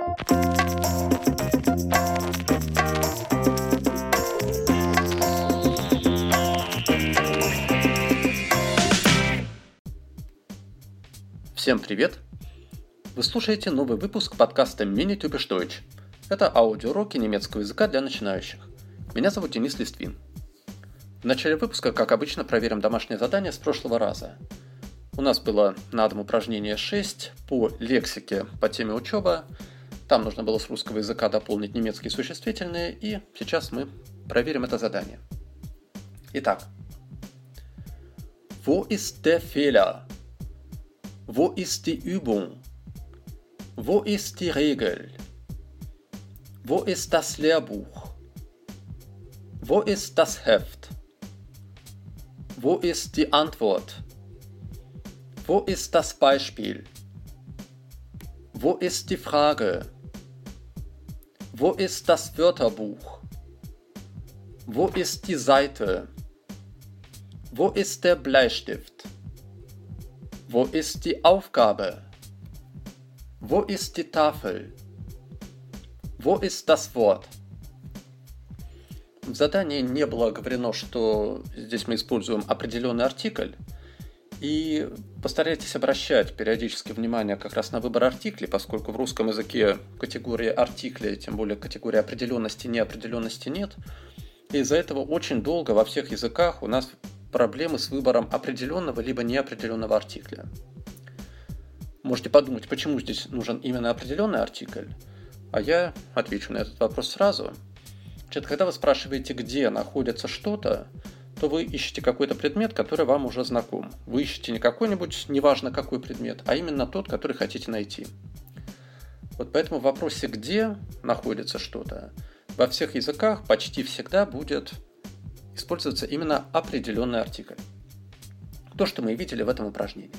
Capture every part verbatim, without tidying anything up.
Всем привет! Вы слушаете новый выпуск подкаста Mini Typisch Deutsch. Это аудиоуроки немецкого языка для начинающих. Меня зовут Денис Листвин. В начале выпуска, как обычно, проверим домашнее задание с прошлого раза. У нас было на дом упражнение шесть по лексике по теме учеба. Там нужно было с русского языка дополнить немецкие существительные, и сейчас мы проверим это задание. Итак. Wo ist der Fehler? Wo ist die Übung? Wo ist die Regel? Wo ist das Lehrbuch? Wo ist das Heft? Wo ist die Antwort? Wo ist das Beispiel? Wo ist die Frage? Wo ist das Wörterbuch? Wo ist die Seite? Wo ist der Bleistift? Wo ist die Aufgabe? Wo ist die Tafel? Wo ist das Wort? В задании не было говорено, что здесь мы используем определенный артикль, и постарайтесь обращать периодически внимание как раз на выбор артиклей, поскольку в русском языке категории артиклей, тем более категории определенности, неопределенности нет, и из-за этого очень долго во всех языках у нас проблемы с выбором определенного либо неопределенного артикля. Можете подумать, почему здесь нужен именно определенный артикль, а я отвечу на этот вопрос сразу. Значит, когда вы спрашиваете, где находится что-то, то вы ищете какой-то предмет, который вам уже знаком. Вы ищете не какой-нибудь, неважно какой предмет, а именно тот, который хотите найти. Вот поэтому в вопросе «где находится что-то» во всех языках почти всегда будет используется именно определенный артикль. То, что мы видели в этом упражнении.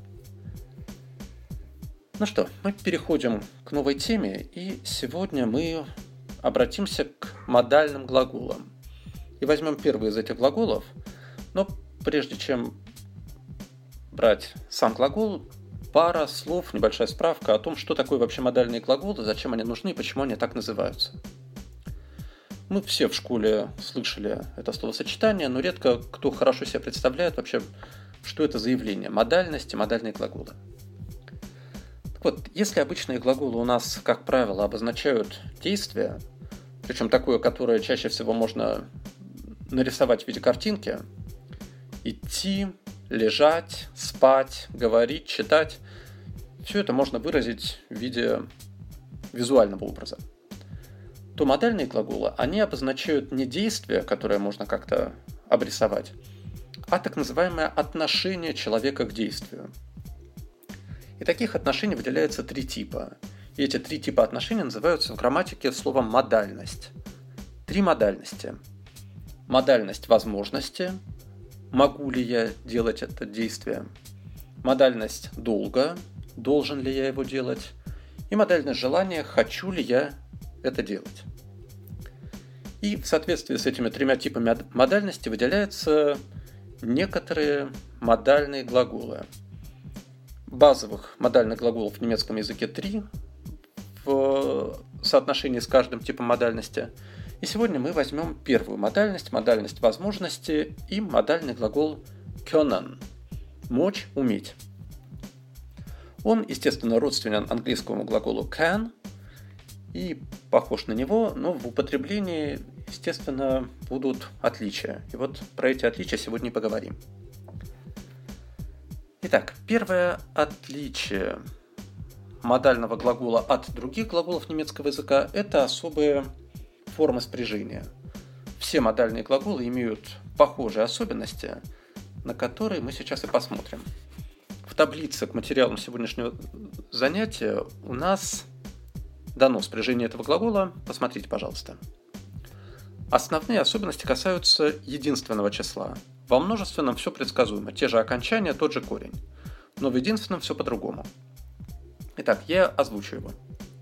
Ну что, мы переходим к новой теме, и сегодня мы обратимся к модальным глаголам. И возьмем первый из этих глаголов, но прежде чем брать сам глагол, пара слов, небольшая справка о том, что такое вообще модальные глаголы, зачем они нужны и почему они так называются. Мы все в школе слышали это словосочетание, но редко кто хорошо себе представляет вообще, что это за явление. Модальность и модальные глаголы. Так вот, если обычные глаголы у нас, как правило, обозначают действие, причем такое, которое чаще всего можно нарисовать в виде картинки, идти, лежать, спать, говорить, читать, все это можно выразить в виде визуального образа, то модальные глаголы, они обозначают не действие, которое можно как-то обрисовать, а так называемое отношение человека к действию. И таких отношений выделяется три типа. И эти три типа отношений называются в грамматике словом «модальность». Три модальности. Модальность возможности, могу ли я делать это действие. Модальность долга, должен ли я его делать. И модальность желания, хочу ли я это делать. И в соответствии с этими тремя типами модальности выделяются некоторые модальные глаголы. Базовых модальных глаголов в немецком языке три в соотношении с каждым типом модальности. И сегодня мы возьмем первую модальность, модальность возможности и модальный глагол können – мочь, уметь. Он, естественно, родственен английскому глаголу can и похож на него, но в употреблении, естественно, будут отличия. И вот про эти отличия сегодня и поговорим. Итак, первое отличие модального глагола от других глаголов немецкого языка – это особые формы спряжения. Все модальные глаголы имеют похожие особенности, на которые мы сейчас и посмотрим. В таблице к материалам сегодняшнего занятия у нас дано спряжение этого глагола. Посмотрите, пожалуйста. Основные особенности касаются единственного числа. Во множественном все предсказуемо. Те же окончания, тот же корень. Но в единственном все по-другому. Итак, я озвучу его.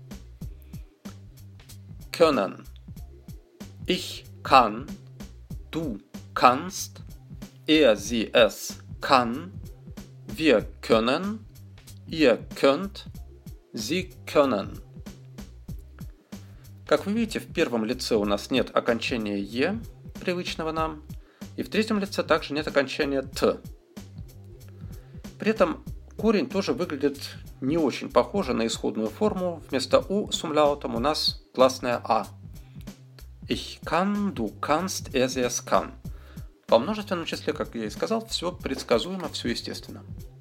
Können. Ich kann. Du kannst. Er, sie, es kann. Wir können. Ihr könnt. Sie können. Как вы видите, в первом лице у нас нет окончания «е», привычного нам, и в третьем лице также нет окончания «т». При этом корень тоже выглядит не очень похоже на исходную форму. Вместо «у» с умляутом у нас гласная «а». Ich kann, du kannst, er, sie, es kann. Во множественном числе, как я и сказал, все предсказуемо, все естественно.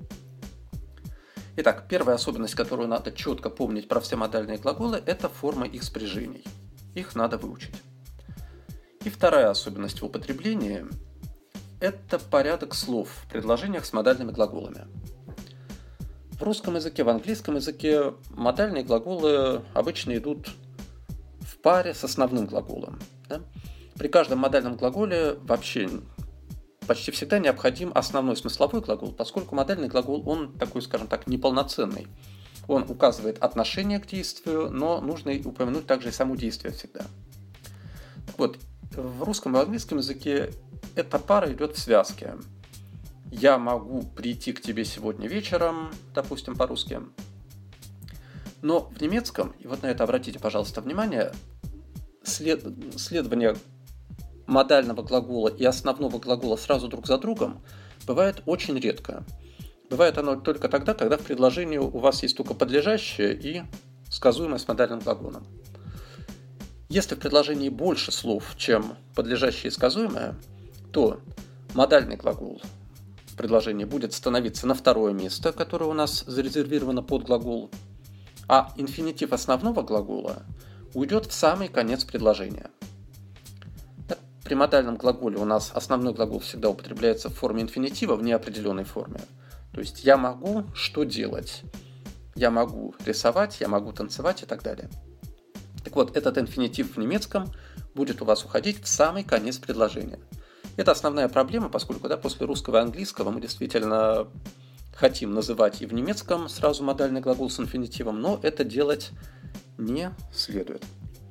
Итак, первая особенность, которую надо четко помнить про все модальные глаголы, это форма их спряжений. Их надо выучить. И вторая особенность в употреблении – это порядок слов в предложениях с модальными глаголами. В русском языке, в английском языке модальные глаголы обычно идут в паре с основным глаголом. Да? При каждом модальном глаголе вообще почти всегда необходим основной смысловой глагол, поскольку модальный глагол, он такой, скажем так, неполноценный. Он указывает отношение к действию, но нужно упомянуть также и само действие всегда. Так вот, в русском и английском языке эта пара идет в связке. Я могу прийти к тебе сегодня вечером, допустим, по-русски. Но в немецком, и вот на это обратите, пожалуйста, внимание, след... следование модального глагола и основного глагола сразу друг за другом бывает очень редко. Бывает оно только тогда, когда в предложении у вас есть только подлежащее и сказуемое с модальным глаголом. Если в предложении больше слов, чем подлежащее и сказуемое, то модальный глагол в предложении будет становиться на второе место, которое у нас зарезервировано под глагол, а инфинитив основного глагола уйдет в самый конец предложения. При модальном глаголе у нас основной глагол всегда употребляется в форме инфинитива в неопределенной форме. То есть я могу что делать? Я могу рисовать, я могу танцевать и так далее. Так вот, этот инфинитив в немецком будет у вас уходить в самый конец предложения. Это основная проблема, поскольку да, после русского и английского мы действительно хотим называть и в немецком сразу модальный глагол с инфинитивом, но это делать не следует.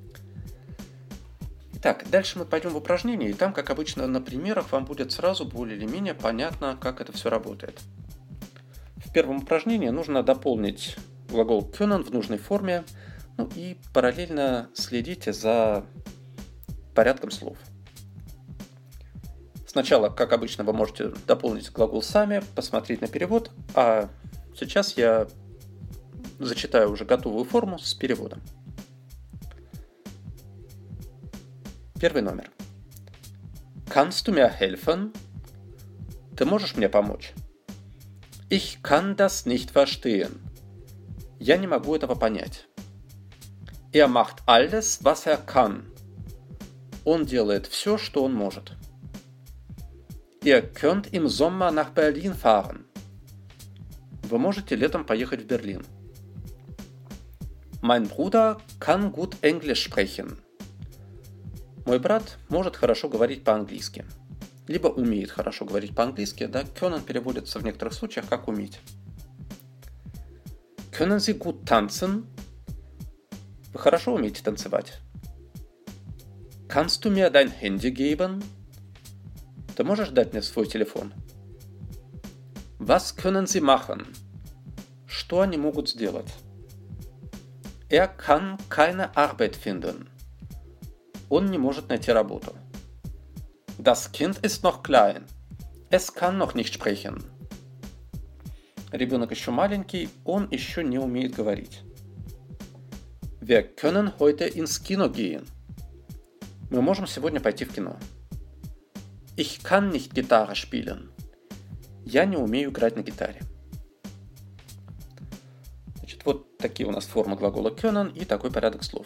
Итак, дальше мы пойдем в упражнение, и там, как обычно, на примерах вам будет сразу более или менее понятно, как это все работает. В первом упражнении нужно дополнить глагол können в нужной форме, ну и параллельно следите за порядком слов. Сначала, как обычно, вы можете дополнить глагол сами, посмотреть на перевод, а сейчас я зачитаю уже готовую форму с переводом. Первый номер. Kannst du mir helfen? Ты можешь мне помочь? Ich kann das nicht verstehen. Я не могу этого понять. Er macht alles, was er kann. Он делает все, что он может. Ihr könnt im Sommer nach Berlin fahren. Вы можете летом поехать в Берлин. Mein Bruder kann gut Englisch sprechen. Мой брат может хорошо говорить по-английски. Либо умеет хорошо говорить по-английски, да, können переводится в некоторых случаях как уметь. Können Sie gut tanzen? Вы хорошо умеете танцевать. Kannst du mir dein Handy geben? Ты можешь дать мне свой телефон? Was können Sie machen? Что они могут сделать? Er kann keine Arbeit finden. Он не может найти работу. Das Kind ist noch klein. Es kann noch nicht sprechen. Ребенок еще маленький, он еще не умеет говорить. Wir können heute ins Kino gehen. Мы можем сегодня пойти в кино. Ich kann nicht Gitarre spielen. Я не умею играть на гитаре. Значит, вот такие у нас формы глагола können и такой порядок слов.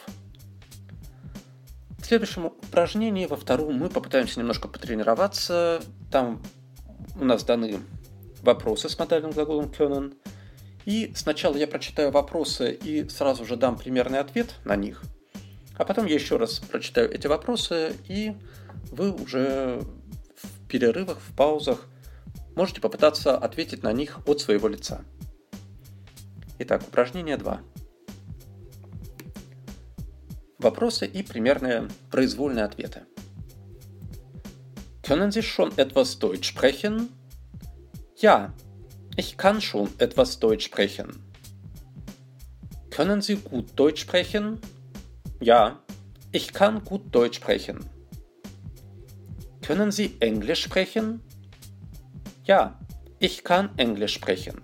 В следующем упражнении, во втором, мы попытаемся немножко потренироваться. Там у нас даны вопросы с модальным глаголом können. И сначала я прочитаю вопросы и сразу же дам примерный ответ на них. А потом я еще раз прочитаю эти вопросы, и вы уже в перерывах, в паузах можете попытаться ответить на них от своего лица. Итак, упражнение два. Вопросы и примерные произвольные ответы. Können Sie schon etwas Deutsch sprechen? Ja, ich kann schon etwas Deutsch sprechen. Können Sie gut Deutsch sprechen? Ja, ich kann gut Deutsch sprechen. Können Sie Englisch sprechen? Ja, ich kann Englisch sprechen.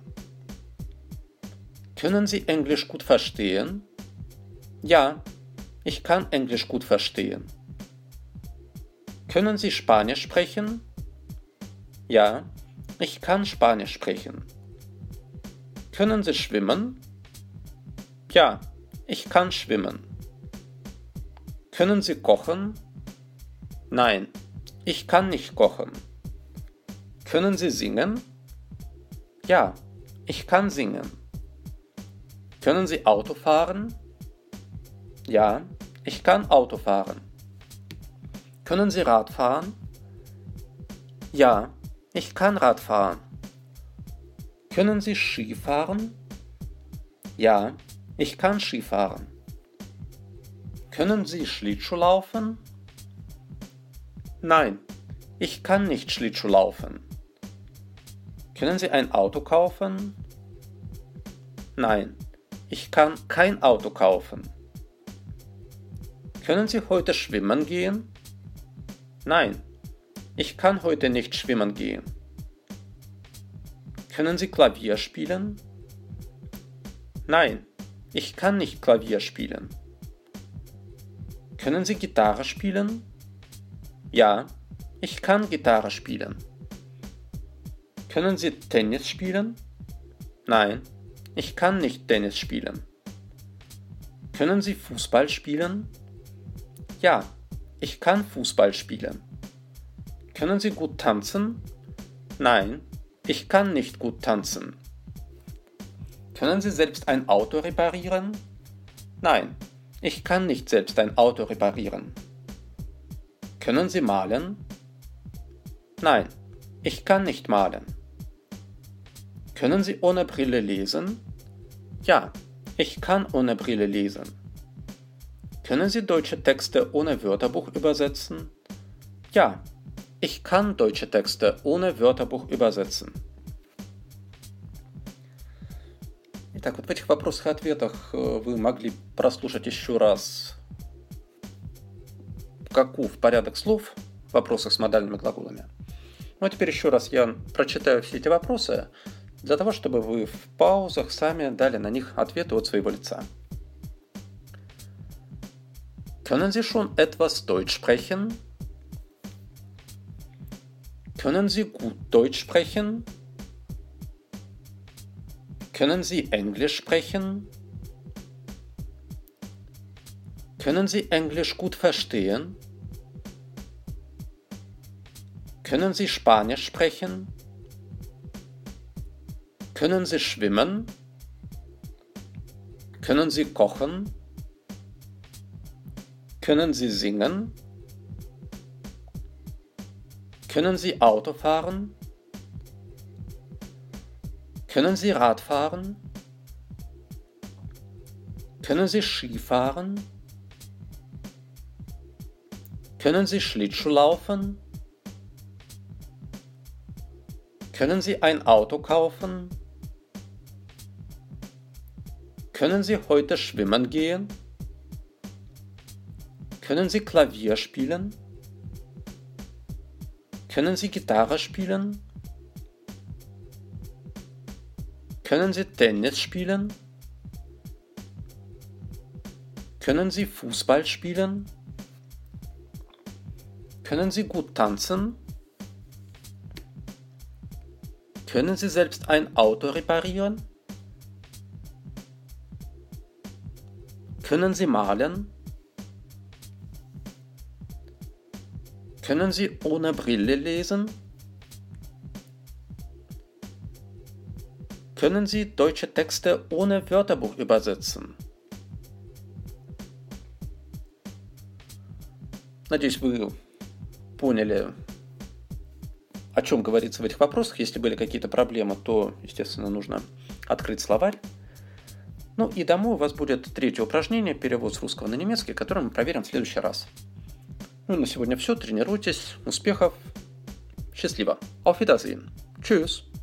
Können Sie Englisch gut verstehen? Ja, ich kann Englisch gut verstehen. Können Sie Spanisch sprechen? Ja, ich kann Spanisch sprechen. Können Sie schwimmen? Ja, ich kann schwimmen. Können Sie kochen? Nein, ich kann nicht kochen. Können Sie singen? Ja, ich kann singen. Können Sie Auto fahren? Ja, ich kann Auto fahren. Können Sie Rad fahren? Ja, ich kann Rad fahren. Können Sie Ski fahren? Ja, ich kann Ski fahren. Können Sie Schlittschuh laufen? Nein, ich kann nicht Schlittschuh laufen. Können Sie ein Auto kaufen? Nein, ich kann kein Auto kaufen. Können Sie heute schwimmen gehen? Nein, ich kann heute nicht schwimmen gehen. Können Sie Klavier spielen? Nein, ich kann nicht Klavier spielen. Können Sie Gitarre spielen? Ja, ich kann Gitarre spielen. Können Sie Tennis spielen? Nein, ich kann nicht Tennis spielen. Können Sie Fußball spielen? Ja, ich kann Fußball spielen. Können Sie gut tanzen? Nein, ich kann nicht gut tanzen. Können Sie selbst ein Auto reparieren? Nein, ich kann nicht selbst ein Auto reparieren. Können Sie malen? Nein, ich kann nicht malen. Können Sie ohne Brille lesen? Ja, ich kann ohne Brille lesen. Können Sie deutsche Texte ohne Wörterbuch übersetzen? Ja, ich kann deutsche Texte ohne Wörterbuch übersetzen. Итак, вот в этих вопросах и ответах вы могли прослушать еще раз, каков порядок слов в вопросах с модальными глаголами. Ну а теперь еще раз я прочитаю все эти вопросы, для того, чтобы вы в паузах сами дали на них ответы от своего лица. Können Sie schon etwas Deutsch sprechen? Können Sie gut Deutsch sprechen? Können Sie Englisch sprechen? Können Sie Englisch gut verstehen? Können Sie Spanisch sprechen? Können Sie schwimmen? Können Sie kochen? Können Sie singen? Können Sie Auto fahren? Können Sie Rad fahren? Können Sie Ski fahren? Können Sie Schlittschuh laufen? Können Sie ein Auto kaufen? Können Sie heute schwimmen gehen? Können Sie Klavier spielen? Können Sie Gitarre spielen? Können Sie Tennis spielen? Können Sie Fußball spielen? Können Sie gut tanzen? Können Sie selbst ein Auto reparieren? Können Sie malen? Können Sie ohne Brille lesen? Können Sie deutsche Texte ohne Wörterbuch übersetzen? Надеюсь, вы поняли, о чем говорится в этих вопросах. Если были какие-то проблемы, то, естественно, нужно открыть словарь. Ну и домой у вас будет третье упражнение, перевод с русского на немецкий, которое мы проверим в следующий раз. Ну и на сегодня все. Тренируйтесь. Успехов. Счастливо. Auf Wiedersehen. Tschüss.